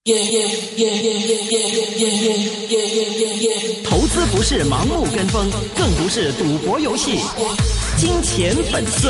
投資不是盲目跟風，更不是賭博遊戲。金錢本色。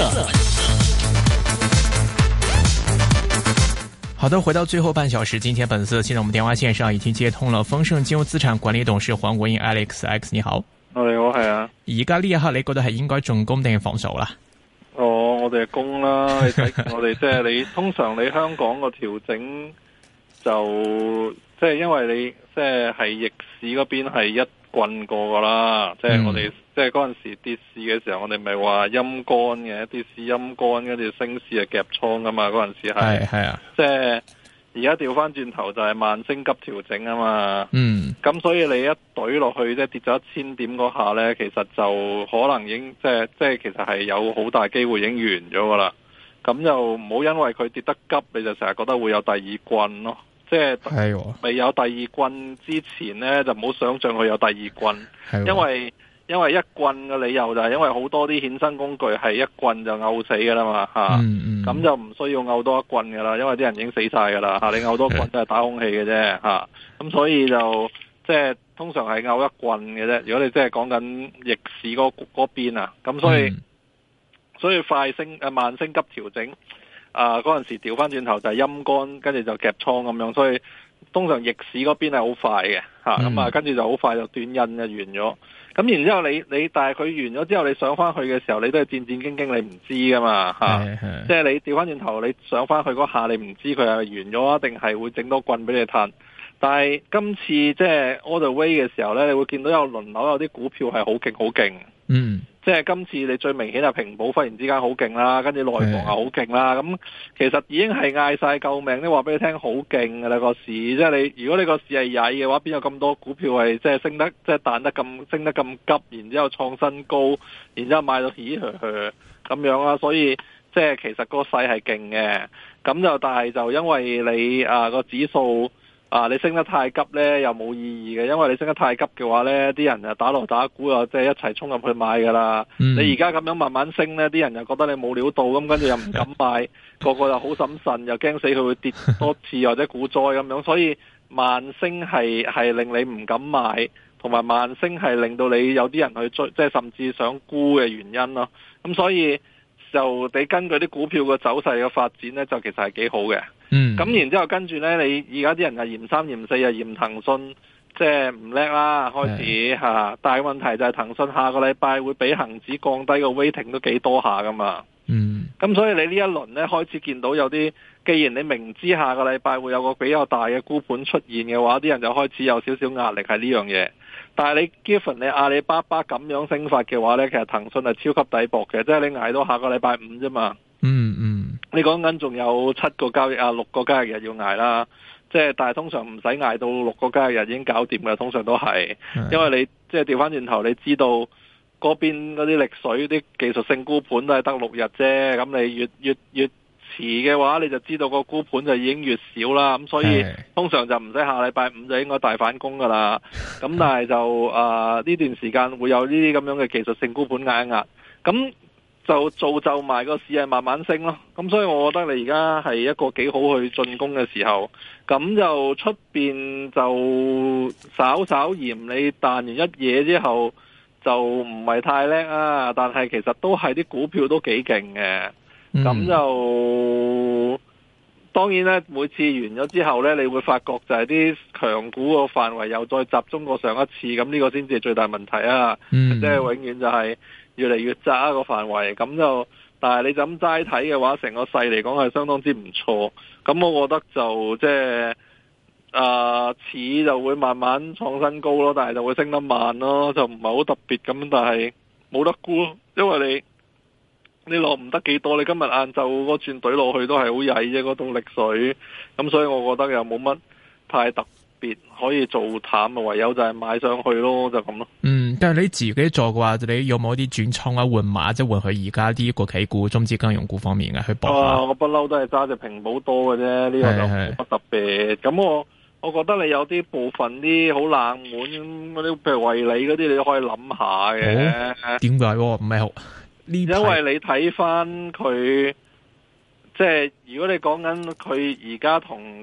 好的，回到最後半小時，金錢本色。現在我們電話線上已經接通了豐盛金融資產管理董事黃國英 Alex， 你好。 你好，係啊。 而家呢一刻你覺得係應該進攻定係防守啦？ 我哋係攻啦。你睇我哋即係你通常你香港個調整就即係因為你即係逆市嗰邊係一棍過噶啦，即係我哋即係嗰陣時跌市嘅時候，我哋咪話陰乾嘅，跌市陰乾，跟住升市係夾倉噶嘛，嗰陣時係啊， 即係而家調翻轉頭就係慢升急調整啊嘛，咁所以你一懟落去即係跌咗1000點嗰下呢，其實就可能已經即係其實係有好大機會已經完咗噶啦，咁就唔好因為佢跌得急，你就成日覺得會有第二棍咯。即係未有第二棍之前呢，就唔好想象佢有第二棍，因為一棍嘅理由就係因為好多啲衍生工具係一棍就拗死噶啦嘛吓，咁就唔需要拗多一棍噶啦，因為啲人已經死晒噶啦吓，你拗多棍都係打空氣嘅啫吓，咁所以就即係通常係拗一棍嘅啫。如果你即係講緊逆市嗰邊啊，咁所以快升慢升急調整。嗰陣時調翻轉頭就係陰乾，跟住就夾倉咁樣，所以通常逆市嗰邊係好快嘅吓，咁跟住就好快就短印就完咗。咁然之後你但係佢完咗之後，你上翻去嘅時候，你都係戰戰兢兢，你唔知噶嘛吓，即係你調翻轉頭，你上翻去嗰下，你唔知佢係完咗啊，定係會整多棍俾你嘆。但係今次即係 all the way 嘅時候呢，你會見到有輪流有啲股票係好勁好勁。即係今次你最明顯係平保忽然之間好勁啦，跟住內房又好勁啦，咁其實已經係嗌晒救命，你話俾你聽好勁噶啦個市，即係你如果你個市係曳嘅話，邊有咁多股票係即係升得即係彈得咁升得咁急，然之後創新高，然之後買到起咁樣啦，所以即係其實個勢係勁嘅，咁就但係就因為你個指數。你升得太急呢又冇意義嘅，因為你升得太急嘅話呢，啲人就打鑼打鼓啊，即係一齊衝入去買噶啦。你而家咁樣慢慢升呢，啲人又覺得你冇料到，咁跟住又唔敢買，個個又好審慎，又驚死佢會跌多次或者股災咁樣，所以慢升係令你唔敢買，同埋慢升係令到你有啲人去追，即係甚至想沽嘅原因咯。咁所以就你根據啲股票嘅走勢嘅發展呢，就其實係幾好嘅。咁然之後跟住呢，你而家啲人係嫌3嫌4又嫌騰訊，即係唔叻啦開始吓。但係問題就係騰訊下個禮拜會比恒指降低個 weighting 都幾多下噶嘛。咁所以你呢一輪呢，開始見到有啲，既然你明知下個禮拜會有個比較大嘅沽盤出現嘅話，啲人就開始有少少壓力係呢樣嘢。但係你 given 你阿里巴巴咁樣升法嘅話呢，其實騰訊係超級抵博嘅，即係你捱到下個禮拜5啫嘛。你講緊仲有7個交易6個交易日要捱啦，即係但係通常唔使捱到6個交易日已經搞掂嘅，通常都係，因為你即係調翻轉頭，你知道嗰邊嗰啲力水啲技術性沽盤都係得6日啫，咁你越遲嘅話，你就知道個沽盤就已經越少啦，咁所以通常就唔使下禮拜5就應該大反攻噶啦，咁但係就呢段時間會有呢啲咁樣嘅技術性沽盤壓一壓，咁就造就埋個市係慢慢升咯，咁所以我覺得你而家係一個幾好去進攻嘅時候，咁就出邊就稍嫌你彈完一嘢之後就唔係太叻啊，但係其實都係啲股票都幾勁嘅，咁就當然咧，每次完咗之後咧，你會發覺就係啲強股個範圍又再集中過上一次，咁呢個先至係最大問題啊！即係永遠就係越嚟越窄個範圍，咁就但係你就咁齋睇嘅話，成個勢嚟講係相當之唔錯。咁我覺得就即係似就會慢慢創新高咯，但係就會升得慢咯，就唔係好特別咁，但係冇得沽，因為你落唔得幾多，你今日晏晝嗰轉隊落去都係好曳啫，嗰種力水，咁所以我覺得又冇乜太特別可以做淡，唯有就係買上去咯，就咁咯。 但係你自己做嘅話，你有冇啲轉倉啊、換馬，即係換去而家啲國企股、中資金融股方面嘅去搏下？ 我不嬲都係揸隻平保多嘅啫，呢個就冇乜特別。咁我覺得你有啲部分啲好冷門嗰啲，譬如惠理嗰啲，你都可以諗下嘅。 點解？唔係好？ 因為你睇翻佢，即係如果你講緊佢而家同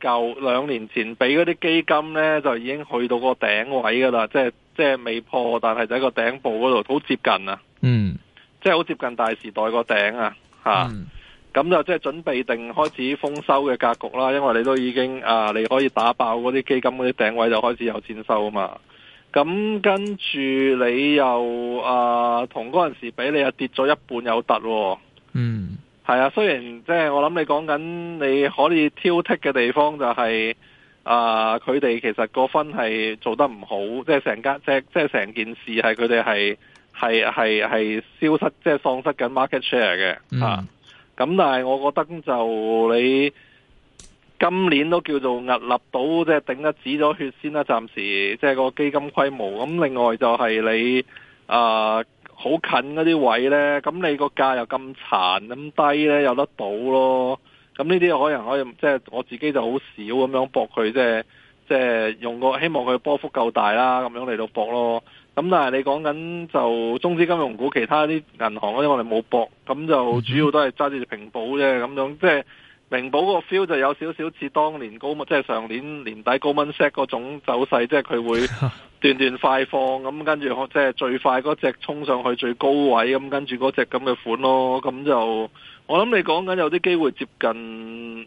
2年前俾嗰啲基金呢，就已經去到個頂位噶啦，即係未破，但係就喺個頂部嗰度好接近啊。即係好接近大時代個頂啊，咁就即係準備定開始豐收嘅格局啦。因為你都已經你可以打爆嗰啲基金嗰啲頂位，就開始有錢收啊嘛。咁跟住你又同嗰陣時比，你又跌咗一半有突喎。係啊，雖然即係我諗你講緊你可以挑剔嘅地方就係佢哋其實個分係做得唔好，即係成件事係佢哋係消失，即係喪失緊 market share 嘅。咁但係我覺得就你今年都叫做屹立到，即係頂得止咗血先啦。暫時即係個基金規模。咁另外就係你好近嗰啲位呢，咁你個價又咁殘咁低呢，有得到咯。咁呢啲可以即係我自己就好少咁樣搏佢，即係用個希望佢波幅夠大啦，咁樣嚟到搏咯。咁但係你講緊就中資金融股，其他啲銀行嗰啲我哋冇搏，咁就主要都係揸住平保啫。咁樣即係平保個 feel 就有少少似當年即係上年年底Goldman Sachs嗰種走勢，即係佢會段段快放，咁跟住即係最快嗰隻衝上去最高位，咁跟住嗰隻咁嘅款咯。咁就我諗你講緊有啲機會接近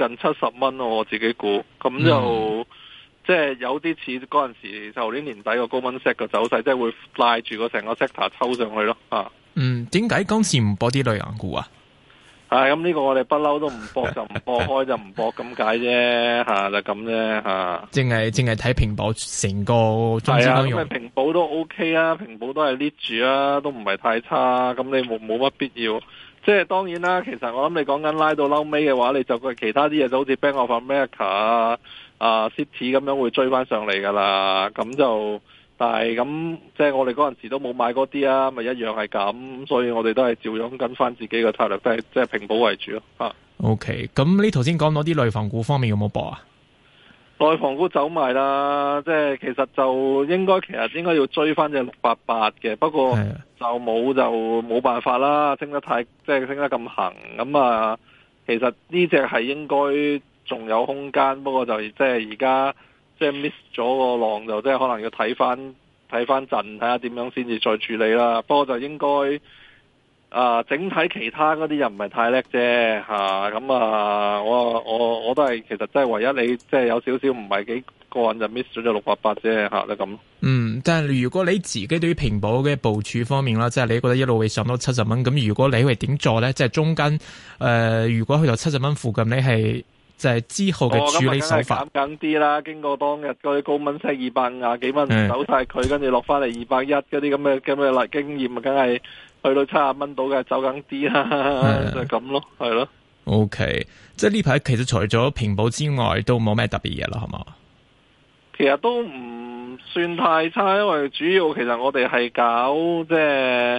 70蚊咯，我自己估。咁就即係有啲似嗰陣時舊年年底個Goldman Sachs嘅走勢，即係會拉住個成個 sector 抽上去咯。 點解今次唔播啲類型股啊？ 咁呢個我哋不嬲都唔搏就唔搏，開就唔搏咁解啫，就咁啫，淨係睇平保成個中資金融。 咁平保都 OK 啊，平保都係 lead 住啊，都唔係太差。咁你冇乜必要。即係當然啦，其實我諗你講緊拉到嬲尾嘅話，你就其他啲嘢就好似 Bank of America City 咁樣會追翻上嚟噶啦。咁就但係咁即係我哋嗰陣時都冇買嗰啲啊，咪一樣係咁，所以我哋都係照樣跟翻自己嘅策略，都係即係平保為主咯。 OK，咁你頭先講到啲內房股方面有冇博啊？ 內房股走埋啦，即係其實就應該要追翻隻688嘅，不過就冇辦法啦，升得咁行咁其實呢隻係應該仲有空間，不過就即係而家即係 miss 咗個浪，就即係可能要睇翻陣，睇下點樣先至再處理啦。不過就應該整體其他嗰啲又唔係太叻啫咁我都係其實真係唯一你即係有少少唔係幾過癮就 miss 咗隻688啫就咁。 但係如果你自己對於平保嘅部署方面啦，即係你覺得一路會上到70蚊，咁如果你會點做咧？即係中間如果去到70蚊附近，你係即係之後嘅處理手法減緊啲啦。經過當日嗰啲高蚊息250幾蚊走晒佢，跟住落翻嚟210嗰啲咁嘅經驗，梗係去到70蚊到嘅走緊啲啦，就係咁咯，係咯。 OK，即係呢排其實除咗平保之外，都冇咩特別嘢啦，係嘛？ 其實都唔算太差，因為主要其實我哋係搞即係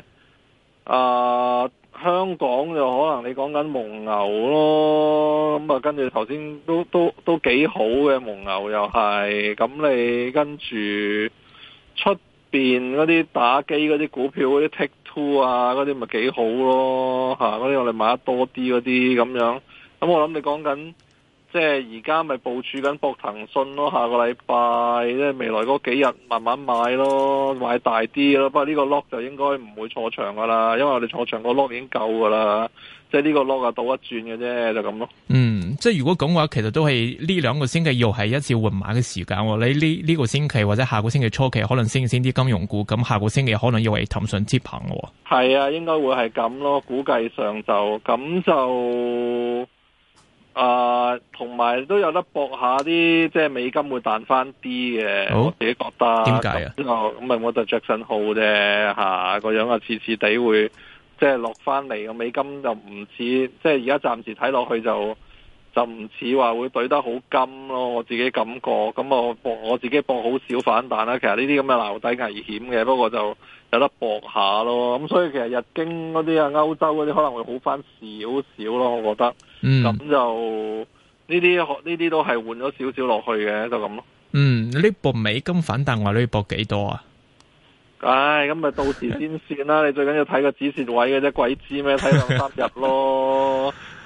香港就可能你講緊蒙牛咯，咁跟住頭先都幾好嘅蒙牛又係，咁你跟住出邊嗰啲打機嗰啲股票嗰啲 Take Two 嗰啲咪幾好咯嗰啲我哋買得多啲嗰啲咁樣，咁我諗你講緊即係而家咪部署緊博騰訊咯，下個禮拜即係未來嗰幾日慢慢買咯，買大啲咯。不過呢個 lock 就應該唔會坐長噶啦，因為我哋坐長個 lock 已經夠噶啦，即係呢個 lock 倒一轉嘅啫，就咁咯。 即係如果講話，其實都係呢兩個星期又係一次換馬嘅時間。你呢個星期或者下個星期初期可能升啲金融股，咁下個星期可能又係騰訊接棒喎。 係啊，應該會係咁咯，估計上就咁就。同埋都有得搏下啲，即係美金會彈翻啲嘅，我自己覺得。 點解啊？ 咁咪我就Jackson Hole啫，個樣似地會即係落翻嚟，個美金就唔似，即係而家暫時睇落去就唔似話會懟得好金咯，我自己感覺。咁我自己搏好少反彈啦。其實呢啲咁嘅撈底危險嘅，不過就有得搏下咯。咁所以其實日經嗰啲歐洲嗰啲可能會好翻少少咯，我覺得。咁就呢啲都係換咗少少落去嘅，就咁咯。 呢搏美金反彈話你搏幾多啊？ 咁咪到時先算啦。你最緊要睇個止蝕位嘅啫，鬼知咩？睇2-3日咯。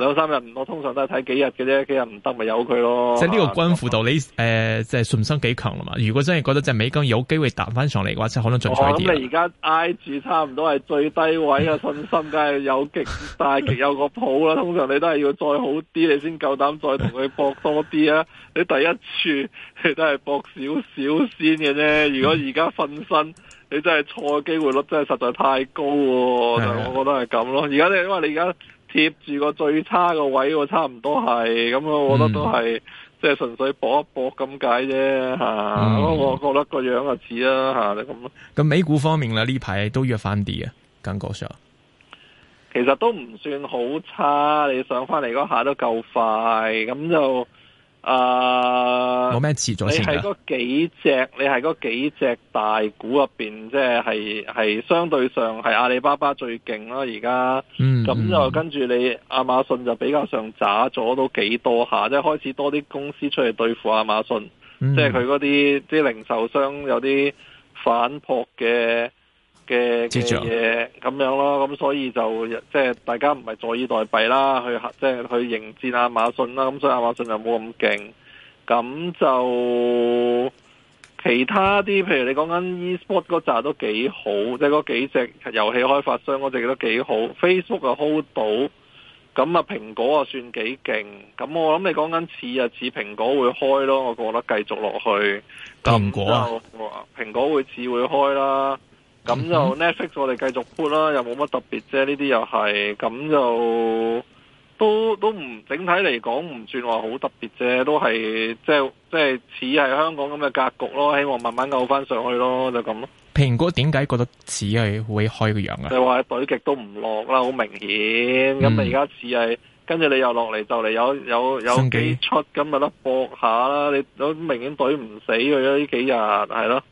兩三日唔多，通常都係睇幾日嘅啫，幾日唔得咪由佢咯。 即係呢個關乎到你即係信心幾強啦嘛。如果真係覺得隻美金有機會彈翻上嚟嘅話，即係可能進取啲。 咁你而家挨住差唔多係最低位嘅信心，梗係有極大極有個譜啦。通常你都係要再好啲，你先夠膽再同佢搏多啲啊！你第一處你都係搏少少先嘅啫。如果而家瞓身，你真係錯嘅機會率真係實在太高喎。但我覺得係咁咯。而家因為你而家貼住個最差個位喎，差唔多係咁，我覺得都係即係純粹搏一搏咁解啫嚇。我覺得個樣就似啦嚇，你咁咯。 咁美股方面咧，呢排都弱翻啲啊，感覺上其實都唔算好差，你上翻嚟嗰下都夠快，咁就冇咩持續性。 你係嗰幾隻大股入邊，即係相對上係阿里巴巴最勁啦，而家。咁就跟住你亞馬遜就比較上渣咗都幾多下，即係開始多啲公司出嚟對付亞馬遜，即係佢嗰啲零售商有啲反撲嘅嘢咁樣咯，咁所以就即係大家唔係坐以待斃啦，即係去迎戰亞馬遜啦，咁所以亞馬遜就冇咁勁，咁就其他啲，譬如你講緊 e-sport 嗰扎都幾好，即係嗰幾隻遊戲開發商嗰隻都幾好 ，Facebook 又 hold 到，咁啊蘋果啊算幾勁，咁我諗你講緊似蘋果會開咯，我覺得繼續落去，蘋果會開啦。咁就 Netflix 我哋繼續 put 啦，又冇乜特別啫，呢啲又係，咁就都唔整體嚟講唔算話好特別啫，都係即係似係香港咁嘅格局咯，希望慢慢救翻上去咯，就咁咯。 蘋果點解覺得似係會開個樣啊？ 就話懟極都唔落啦，好明顯。咁你而家似係跟住你又落嚟就嚟有幾出咁咪得搏下啦，你都明顯懟唔死佢啦，呢幾日係咯。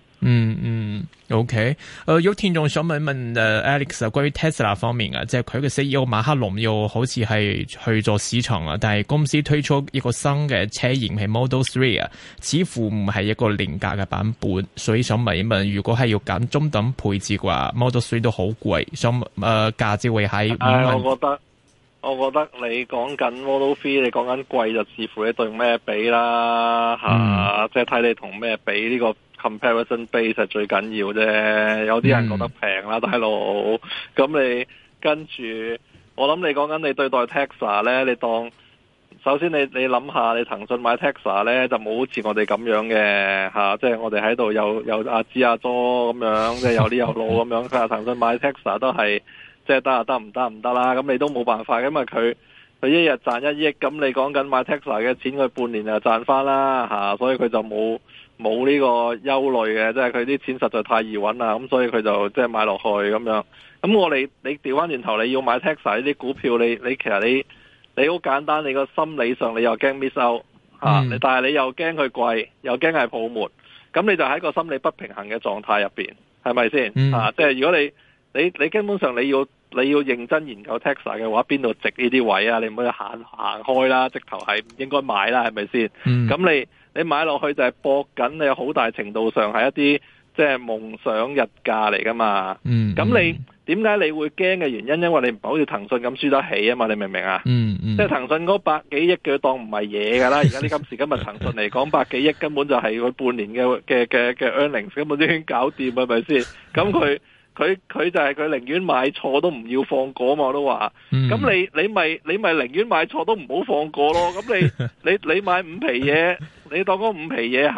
OK，有聽眾想問 Alex 關於 Tesla 方面啊，即係佢嘅 CEO 馬克龍又好似係去咗市場啦，但係公司推出一個新嘅車型係 Model 3啊，似乎唔係一個廉價嘅版本，所以想問一問，如果係要揀中等配置嘅話 ，Model 3都好貴，想價值會喺我覺得你講緊 Model 3，你講緊貴就視乎你對咩比啦即係睇你同咩比呢個。Comparison base 係最緊要啫，有啲人覺得平啦，大佬。咁你跟住，我諗你講緊你對待 Tesla 咧，你當首先你諗下，你騰訊買 Tesla 咧就冇好似我哋咁樣嘅即係我哋喺度有阿芝阿咗咁樣，即係有啲有路咁樣。佢話騰訊買 Tesla 都係即係得唔得啦？咁你都冇辦法，因為佢一日賺1億，咁你講緊買 Tesla 嘅錢，佢半年就賺翻啦所以佢就冇呢個憂慮嘅，即係佢啲錢實在太易揾啦，咁所以佢就即係買落去咁樣。咁你調翻轉頭，你要買 Tesla 呢啲股票，你其實你好簡單，你個心理上你又驚 miss out 但係你又驚佢貴，又驚係泡沫，咁你就喺個心理不平衡嘅狀態入邊，係咪先？即係如果你根本上你要認真研究 Tesla 嘅話，邊度值呢啲位啊？你唔好行開啦，直頭係唔應該買啦，係咪先？咁你買落去就係搏緊，你有好大程度上係一啲即係夢想日價嚟噶嘛。咁你點解你會驚嘅原因？因為你唔係好似騰訊咁輸得起啊嘛，你明唔明啊？即係騰訊嗰100幾億嘅當唔係嘢噶啦。而家今時今日騰訊嚟講，100幾億根本就係佢半年嘅 earnings 根本都已經搞掂，係咪先？咁佢就係佢寧願買錯都唔要放過嘛，我都話。咁你咪寧願買錯都唔好放過咯。咁你買5皮嘢，你當嗰5皮嘢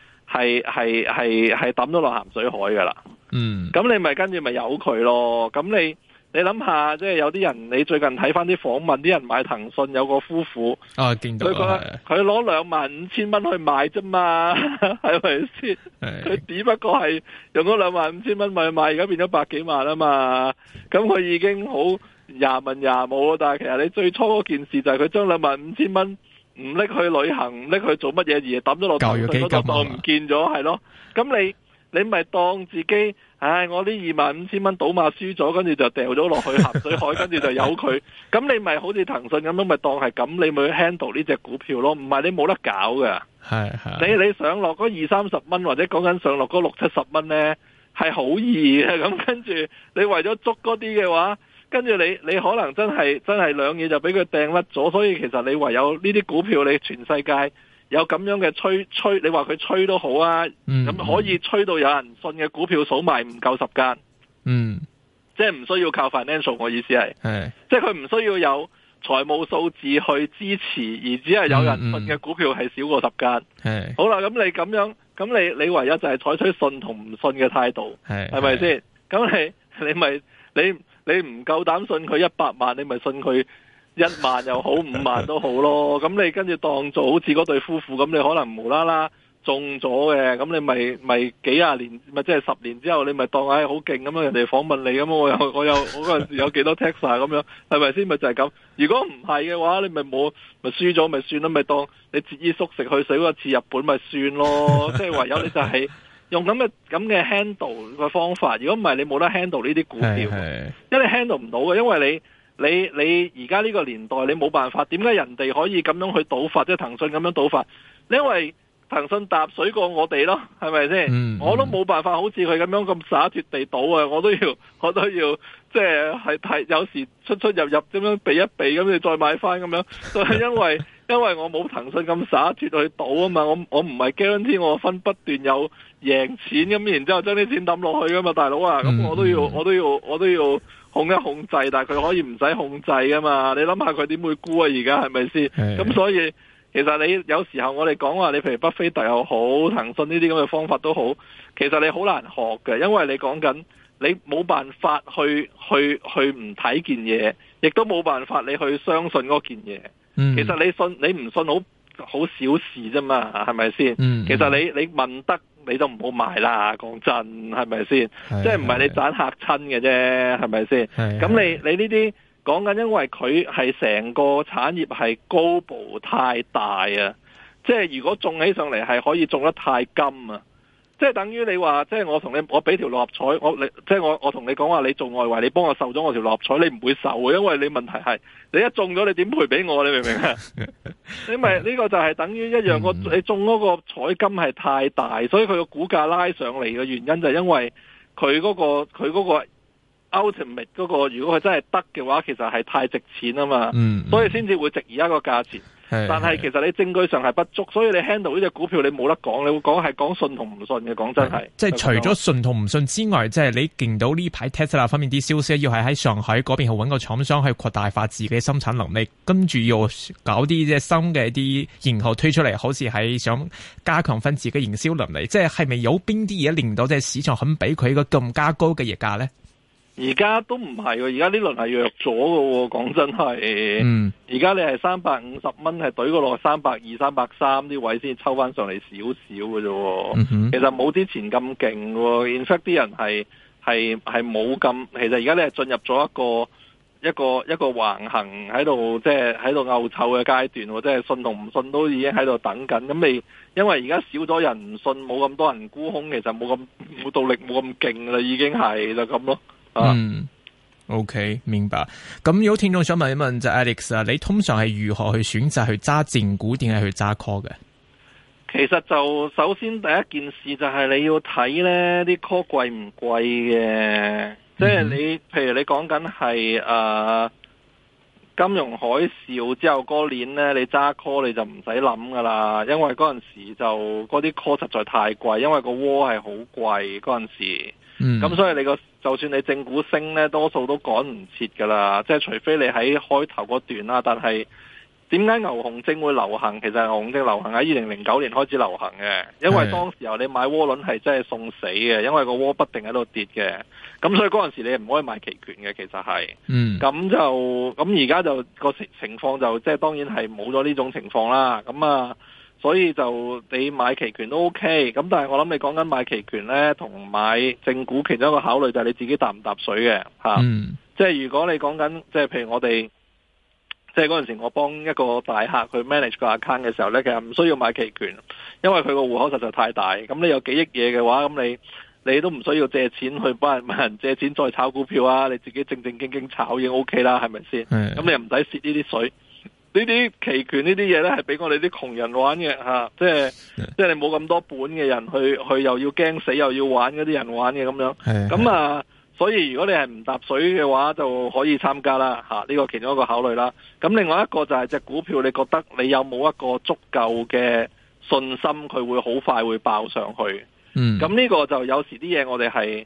係抌咗落鹹水海噶啦。咁你咪跟住咪由佢咯。咁你諗下，即係有啲人，你最近睇翻啲訪問，啲人買騰訊有個夫婦， 見到佢攞25,000蚊去買啫嘛，係咪先？佢只不過係用咗25,000蚊咪買，而家變咗100幾萬啊嘛。咁佢已經好廿文廿武咯。但係其實你最初嗰件事就係佢將25,000蚊唔拎去旅行，唔拎去做乜嘢，而係抌咗落騰訊嗰度，當唔見咗，係咯。咁你咪當自己，我呢25,000蚊賭馬輸咗，跟住就掉咗落去鹹水海，跟住就由佢。咁你咪好似騰訊咁樣，咪當係咁，你咪去 handle 呢隻股票咯。唔係你冇得搞㗎。你上落嗰20-30蚊，或者講緊上落嗰60-70蚊呢，係好易嘅。咁跟住你為咗捉嗰啲嘅話， 跟住你可能真係兩嘢就俾佢掟甩咗，所以其實你唯有呢啲股票，你全世界有咁樣嘅吹，你話佢吹都好啊，咁可以吹到有人信嘅股票數埋唔夠10間，即係唔需要靠 financial， 我意思係，即係佢唔需要有財務數字去支持，而只係有人信嘅股票係少過10間。好啦，咁你咁樣，咁你唯有就係採取信同唔信嘅態度，係咪先？咁你唔夠膽信佢100萬，你咪信佢1萬又好5萬都好咯。咁你跟住當做好似嗰對夫婦咁，你可能無啦啦中咗嘅，咁你咪幾廿年，咪即係10年之後，你咪當好勁咁樣，人哋訪問你咁，我嗰陣時有幾多 Tesla 咁樣，係咪先？咪就係咁。如果唔係嘅話，你咪輸咗咪算咯，咪當你節衣縮食去水嗰次日本咪算咯。即係唯有你就係用咁嘅 handle 嘅方法。如果唔係，你冇得 handle 呢啲股票，因為你 handle 唔到嘅，因為你而家呢個年代你冇辦法。點解人哋可以咁樣去賭法，即係騰訊咁樣賭法？因為騰訊踏水過我哋咯，係咪先？我都冇辦法好似佢咁樣咁灑脫地賭啊！我都要即係有時出入咁樣避一避，咁你再買翻咁樣。就係因為我冇騰訊咁灑脫去賭啊嘛！我唔係 guarantee 我分不斷有贏錢咁，然之後將啲錢抌落去噶嘛，大佬啊！咁我都要控一控制，但係佢可以唔使控制噶嘛？你諗下佢點會沽啊？而家係咪先？咁所以。其實你有時候我哋講話，你譬如巴菲特又好，騰訊呢啲咁嘅方法都好，其實你好難學嘅，因為你講緊你冇辦法去唔睇件嘢，亦都冇辦法你去相信嗰件嘢。其實你唔信好小事啫嘛，係咪先？其實你問得你都唔好買啦，講真係咪先？即係唔係你盞嚇親嘅啫，係咪先？咁你呢啲。講緊，因為佢係成個產業係高度太大啊！即係如果中起上嚟係可以中得太金啊！即係等於你話，即係我俾條六合彩，我同你講話，你做外圍，你幫我受咗我條六合彩，你唔會受嘅，因為你問題係你一中咗，你點賠俾我？你明唔明啊？因為呢個就係等於一樣，你中嗰個彩金係太大，所以佢個股價拉上嚟嘅原因就係因為佢嗰個。Ultimate 嗰個如果佢真係得嘅話，其實係太值錢啊嘛，所以先至會值而家個價錢。但係其實你證據上係不足，所以你 handle 呢隻股票你冇得講，你會講信同唔信嘅。講真係， 即係除咗信同唔信之外，即係你見到呢排 Tesla 方面啲消息，要係喺上海嗰邊去揾個廠商去擴大化自己生產能力，跟住要搞啲即係新嘅啲型號推出嚟，好似係想加強翻自己營銷能力。即係咪有邊啲嘢令到即係市場肯俾佢一個更加高嘅溢價咧？ 而家都唔係喎，而家呢輪係弱咗嘅喎，講真係。而家你係350蚊係懟過落320、330啲位先抽翻上嚟少少嘅啫。其實冇之前咁勁喎。in fact 啲人係冇咁。其實而家你係進入咗一個橫行喺度，即係喺度拗臭嘅階段。即係信同唔信都已經喺度等緊。咁你因為而家少咗人唔信，冇咁多人沽空，其實冇動力冇咁勁啦，已經係就咁咯。 OK， 明白。咁有聽眾想問一問就 Alex 啊，你通常係如何去選擇去揸正股，定係去揸 call 嘅？ 其實就首先第一件事就係你要睇呢啲 call 貴唔貴嘅，即係你譬如你講緊係金融海嘯之後嗰年呢，你揸 call 你就唔使諗噶啦，因為嗰陣時就嗰啲 call 實在太貴，因為個窩係好貴嗰陣時。咁所以就算你正股升呢，多數都趕唔切噶啦，即係除非你喺開頭嗰段啦。但係點解牛熊證會流行？其實牛熊證流行喺2009年開始流行嘅，因為當時候你買窩輪係真係送死嘅，因為個窩不定喺度跌嘅。咁所以嗰陣時你唔可以買期權嘅，其實係。咁而家就個情況就即係當然係冇咗呢種情況啦。所以就你買期權都 OK，咁但係我諗你講緊買期權呢，同買正股其中一個考慮就係你自己搭唔搭水嘅吓。即係如果你講緊即係譬如我哋即係嗰陣時我幫一個大客去 manage 個 account 嘅時候呢，其實唔需要買期權，因為佢個戶口實在太大。咁你有幾億嘢嘅話，咁你都唔需要借錢去幫人借錢再炒股票啊，你自己正正經經炒已經 OK 啦，係咪先？咁你又唔使蝕呢啲水。呢啲期權呢啲嘢咧，係俾我哋啲窮人玩嘅吓，即係你冇咁多本嘅人去又要驚死又要玩嗰啲人玩嘅咁樣。咁所以如果你係唔搭水嘅話，就可以參加啦吓，呢個其中一個考慮啦。咁另外一個就係隻股票，你覺得你有冇一個足夠嘅信心，佢會好快會爆上去？咁呢個就有時啲嘢我哋係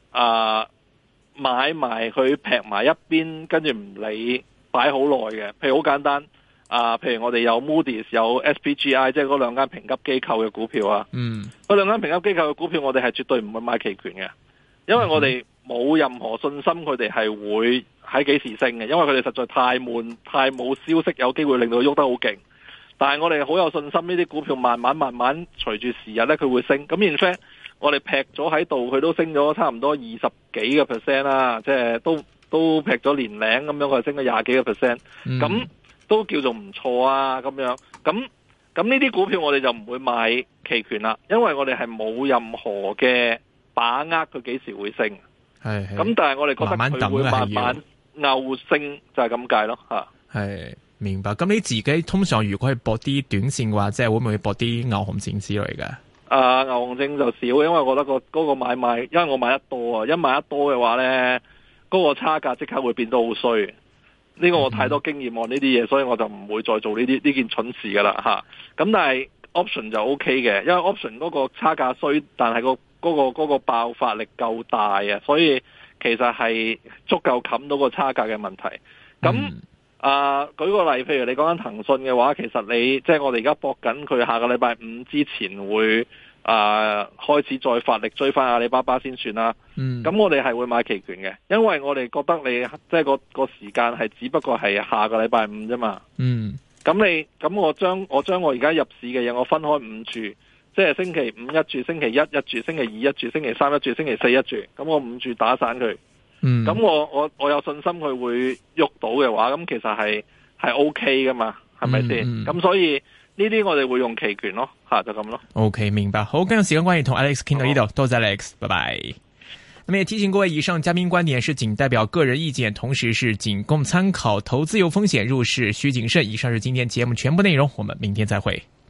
買埋佢劈埋一邊，跟住唔理擺好耐嘅。譬如好簡單譬如我哋有 Moody's 有 SPGI， 即係嗰兩間評級機構嘅股票啊。嗰兩間評級機構嘅股票，我哋係絕對唔會買期權嘅，因為我哋冇任何信心佢哋係會喺幾時升嘅，因為佢哋實在太悶，太冇消息有機會令到佢喐得好勁。但係我哋好有信心，呢啲股票慢慢隨住時日咧，佢會升。咁 in fact 我哋劈咗喺度，佢都升咗差唔多20幾個 percent 啦，即係都劈咗年零咁樣，佢升咗20幾個 percent，咁都叫做唔錯啊咁樣。咁呢啲股票我哋就唔會買期權啦，因為我哋係冇任何嘅把握佢幾時會升。咁但係我哋覺得佢會慢慢牛升，就係咁解咯吓。係明白。咁你自己通常如果係搏啲短線嘅話，即係會唔會搏啲牛熊證之類嘅？ 牛熊證就少，因為我覺得嗰個買賣，因為我買得多啊，一買得多嘅話咧，嗰個差價即刻會變得好衰。呢個我太多經驗喎呢啲嘢，所以我就唔會再做呢件蠢事噶啦吓。咁但係 option 就 OK 嘅，因為 option 嗰個差價衰，但係嗰個爆發力夠大啊，所以其實係足夠冚到個差價嘅問題。咁舉個例，譬如你講緊騰訊嘅話，其實你即係我哋而家搏緊佢下個禮拜五之前會開始再發力追翻阿里巴巴先算啦。咁我哋係會買期權嘅，因為我哋覺得你即係個時間係只不過係下個禮拜五啫嘛。咁我將我而家入市嘅嘢我分開5注，即係星期五一注，星期一一注，星期二一注，星期三一注，星期四一注，咁我5注打散佢。咁我有信心佢會喐到嘅話，咁其實係 OK 噶嘛，係咪先？咁所以呢啲我哋會用期權咯，就咁咯。 OK， 明白。好，今日時間關係同 Alex 傾到呢度，多謝 Alex， 拜拜。那麼也提醒各位，以上嘉賓觀點是僅代表個人意見，同時是僅供參考，投資有風險，入市需謹慎。以上是今天節目全部內容，我們明天再會。